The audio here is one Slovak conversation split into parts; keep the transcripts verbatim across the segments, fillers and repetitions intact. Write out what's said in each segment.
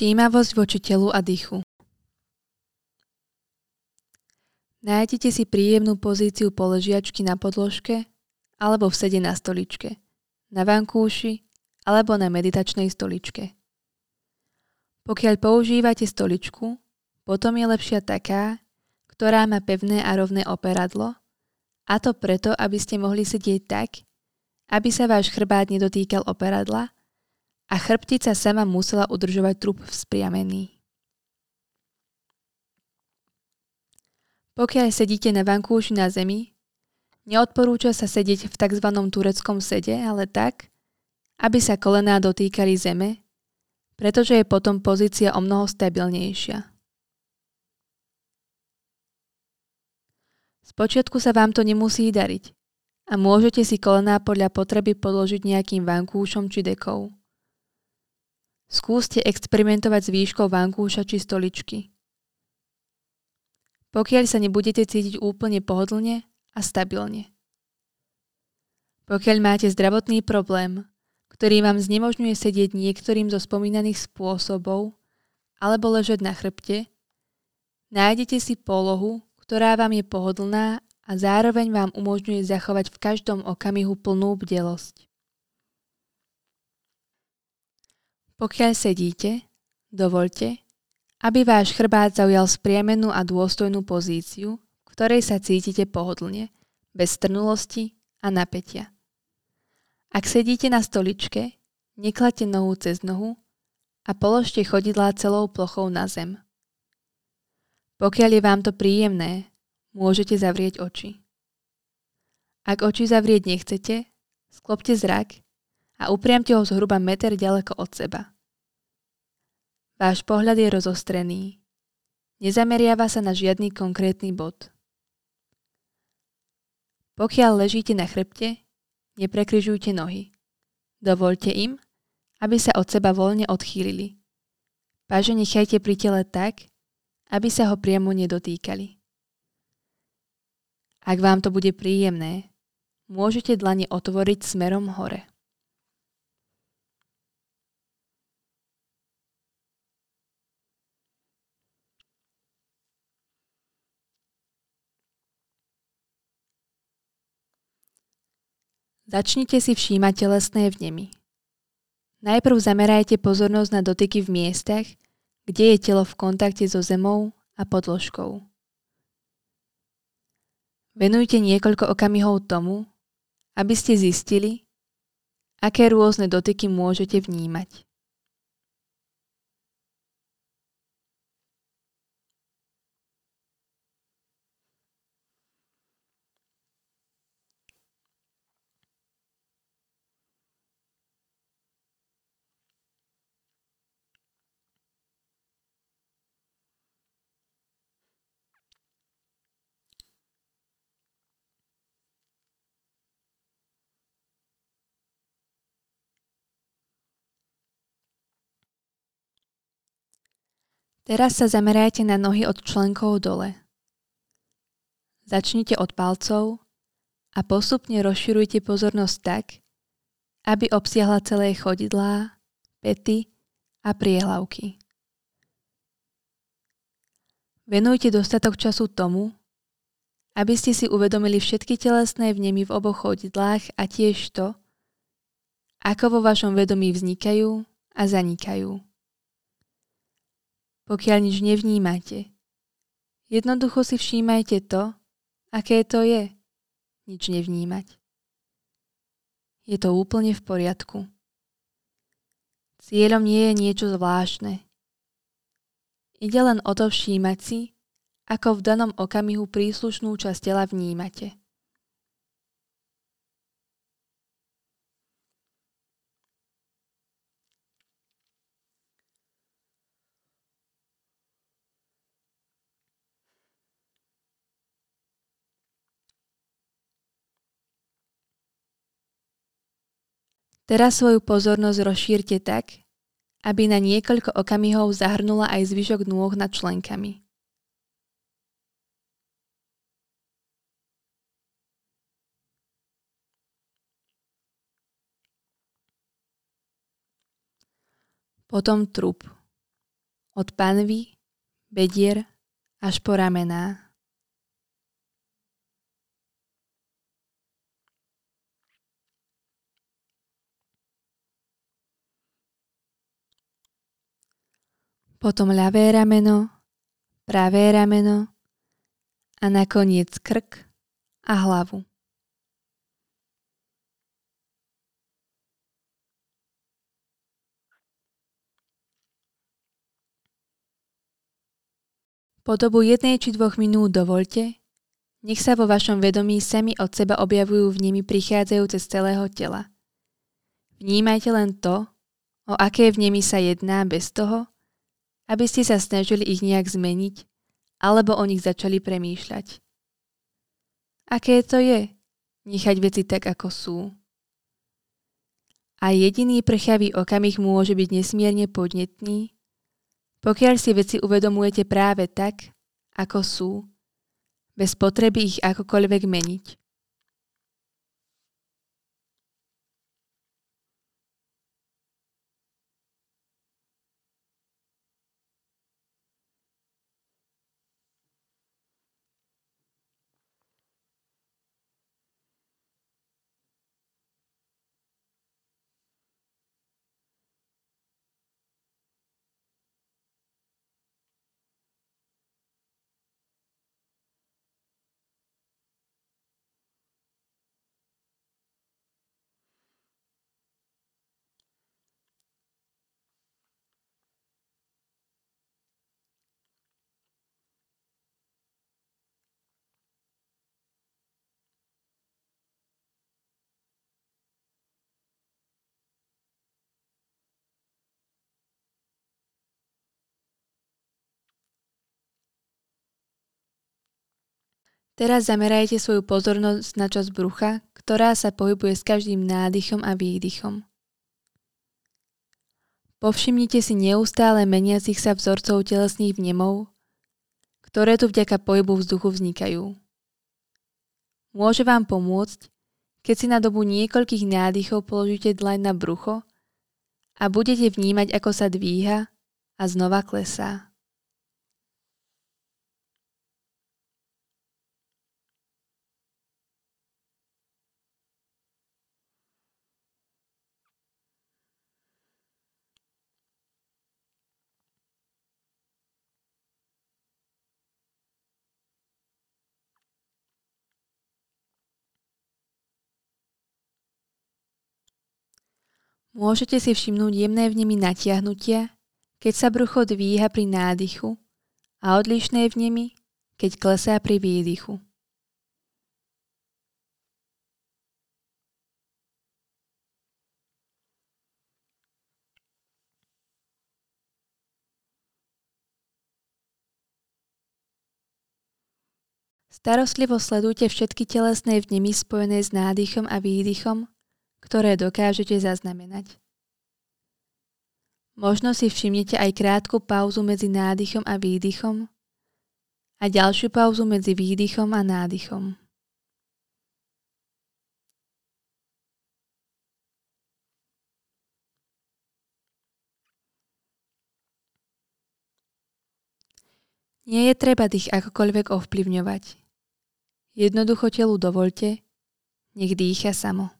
Všímavosť voči telu a dychu. Nájdete si príjemnú pozíciu položiačky na podložke alebo v sede na stoličke, na vankúši alebo na meditačnej stoličke. Pokiaľ používate stoličku, potom je lepšia taká, ktorá má pevné a rovné operadlo, a to preto, aby ste mohli sedieť tak, aby sa váš chrbát nedotýkal operadla a chrbtica sama musela udržovať trup vzpriamený. Pokiaľ sedíte na vankúši na zemi, neodporúča sa sedieť v tzv. Tureckom sede, ale tak, aby sa kolená dotýkali zeme, pretože je potom pozícia omnoho stabilnejšia. Spočiatku sa vám to nemusí dariť a môžete si kolená podľa potreby podložiť nejakým vankúšom či dekou. Skúste experimentovať s výškou vankúša či stoličky. Pokiaľ sa nebudete cítiť úplne pohodlne a stabilne. Pokiaľ máte zdravotný problém, ktorý vám znemožňuje sedieť niektorým zo spomínaných spôsobov alebo ležať na chrbte, nájdete si polohu, ktorá vám je pohodlná a zároveň vám umožňuje zachovať v každom okamihu plnú bdelosť. Pokiaľ sedíte, dovoľte, aby váš chrbát zaujal spriamenú a dôstojnú pozíciu, v ktorej sa cítite pohodlne, bez strnulosti a napätia. Ak sedíte na stoličke, nekladte nohu cez nohu a položte chodidlá celou plochou na zem. Pokiaľ je vám to príjemné, môžete zavrieť oči. Ak oči zavrieť nechcete, sklopte zrak a upriamte ho zhruba meter ďaleko od seba. Váš pohľad je rozostrený. Nezameriava sa na žiadny konkrétny bod. Pokiaľ ležíte na chrbte, neprekryžujte nohy. Dovoľte im, aby sa od seba voľne odchýlili. Paže nechajte pri tele tak, aby sa ho priamo nedotýkali. Ak vám to bude príjemné, môžete dlane otvoriť smerom hore. Začnite si všímať telesné vnemy. Najprv zamerajte pozornosť na dotyky v miestach, kde je telo v kontakte so zemou a podložkou. Venujte niekoľko okamihov tomu, aby ste zistili, aké rôzne dotyky môžete vnímať. Teraz sa zamerajte na nohy od členkov dole. Začnite od palcov a postupne rozširujte pozornosť tak, aby obsiahla celé chodidlá, päty a priehlavky. Venujte dostatok času tomu, aby ste si uvedomili všetky telesné vnemy v oboch chodidlách a tiež to, ako vo vašom vedomí vznikajú a zanikajú. Pokiaľ nič nevnímate, jednoducho si všímajte to, aké to je nič nevnímať. Je to úplne v poriadku. Cieľom nie je niečo zvláštne. Ide len o to všímať si, ako v danom okamihu príslušnú časť tela vnímate. Teraz svoju pozornosť rozšírte tak, aby na niekoľko okamihov zahrnula aj zvyšok nôh nad členkami. Potom trup. od panvy, bedier až po ramená. Potom ľavé rameno, pravé rameno a nakoniec krk a hlavu. Po dobu jednej či dvoch minút dovoľte, nech sa vo vašom vedomí sami od seba objavujú vnemy prichádzajúce z celého tela. Vnímajte len to, o aké vnemy sa jedná bez toho, aby ste sa snažili ich nejak zmeniť alebo o nich začali premýšľať. Aké to je nechať veci tak, ako sú? A jediný prchavý okamih môže byť nesmierne podnetný, pokiaľ si veci uvedomujete práve tak, ako sú, bez potreby ich akokoľvek meniť. Teraz zamerajte svoju pozornosť na časť brucha, ktorá sa pohybuje s každým nádychom a výdychom. Povšimnite si neustále meniacich sa vzorcov telesných vnemov, ktoré tu vďaka pohybu vzduchu vznikajú. Môže vám pomôcť, keď si na dobu niekoľkých nádychov položíte dlaň na brucho a budete vnímať, ako sa dvíha a znova klesá. Môžete si všimnúť jemné vnemy natiahnutia, keď sa brucho dvíha pri nádychu a odlišné vnemy, keď klesá pri výdychu. Starostlivo sledujte všetky telesné vnemy spojené s nádychom a výdychom, ktoré dokážete zaznamenať. Možno si všimnete aj krátku pauzu medzi nádychom a výdychom a ďalšiu pauzu medzi výdychom a nádychom. Nie je treba dých akokoľvek ovplyvňovať. Jednoducho telu dovoľte, nech dýcha samo.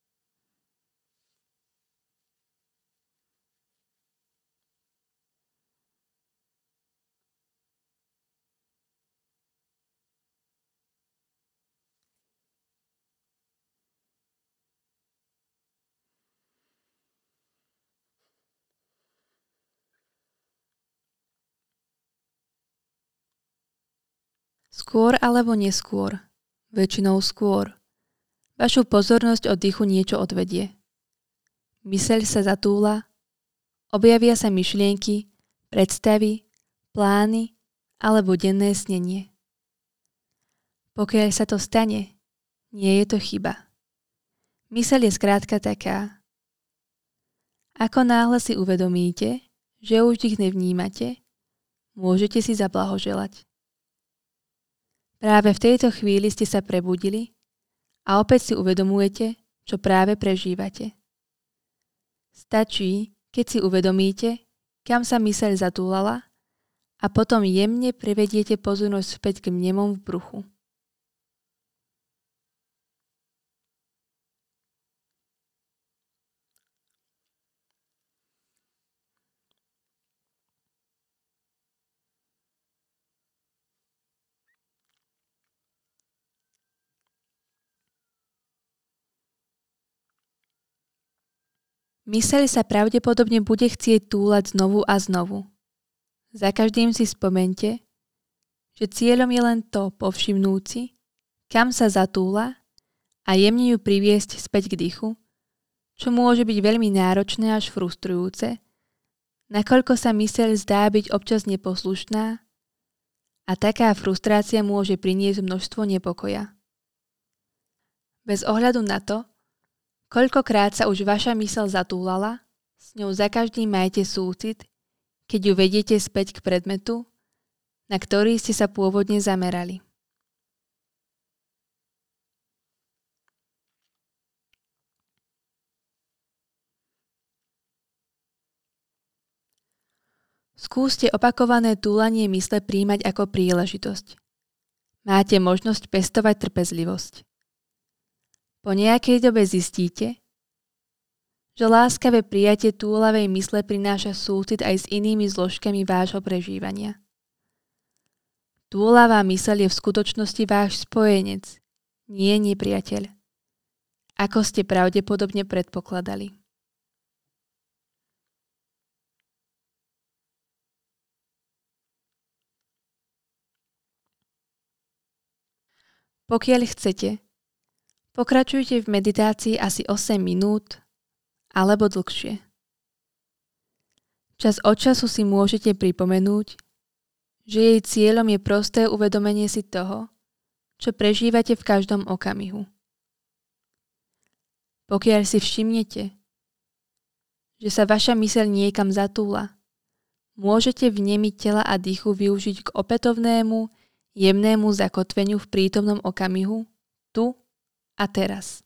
Skôr alebo neskôr, väčšinou skôr, vašu pozornosť od dýchu niečo odvedie. Myseľ sa zatúla, objavia sa myšlienky, predstavy, plány alebo denné snenie. Pokiaľ sa to stane, nie je to chyba. Myseľ je skrátka taká. Ako náhle si uvedomíte, že už dých nevnímate, môžete si zablahoželať. Práve v tejto chvíli ste sa prebudili a opäť si uvedomujete, čo práve prežívate. Stačí, keď si uvedomíte, kam sa myseľ zatúlala a potom jemne privediete pozornosť späť k mnemom v bruchu. Myseľ sa pravdepodobne bude chcieť túlať znovu a znovu. Za každým si spomente, že cieľom je len to povšimnúť si, kam sa zatúla a jemne ju priviesť späť k dychu, čo môže byť veľmi náročné až frustrujúce, nakoľko sa myseľ zdá byť občas neposlušná a taká frustrácia môže priniesť množstvo nepokoja. Bez ohľadu na to, koľkokrát sa už vaša myseľ zatúlala, s ňou za každým majte súcit, keď ju vediete späť k predmetu, na ktorý ste sa pôvodne zamerali. Skúste opakované túlanie mysle prijímať ako príležitosť. Máte možnosť pestovať trpezlivosť. Po nejakej dobe zistíte, že láskavé prijatie túlavej mysle prináša súcit aj s inými zložkami vášho prežívania. Túlavá myseľ je v skutočnosti váš spojenec, nie nepriateľ, ako ste pravdepodobne predpokladali. Pokiaľ chcete, pokračujte v meditácii asi osem minút alebo dlhšie. Čas od času si môžete pripomenúť, že jej cieľom je prosté uvedomenie si toho, čo prežívate v každom okamihu. Pokiaľ si všimnete, že sa vaša myseľ niekam zatúla, môžete vnemy tela a dýchu využiť k opätovnému, jemnému zakotveniu v prítomnom okamihu, tu a teraz.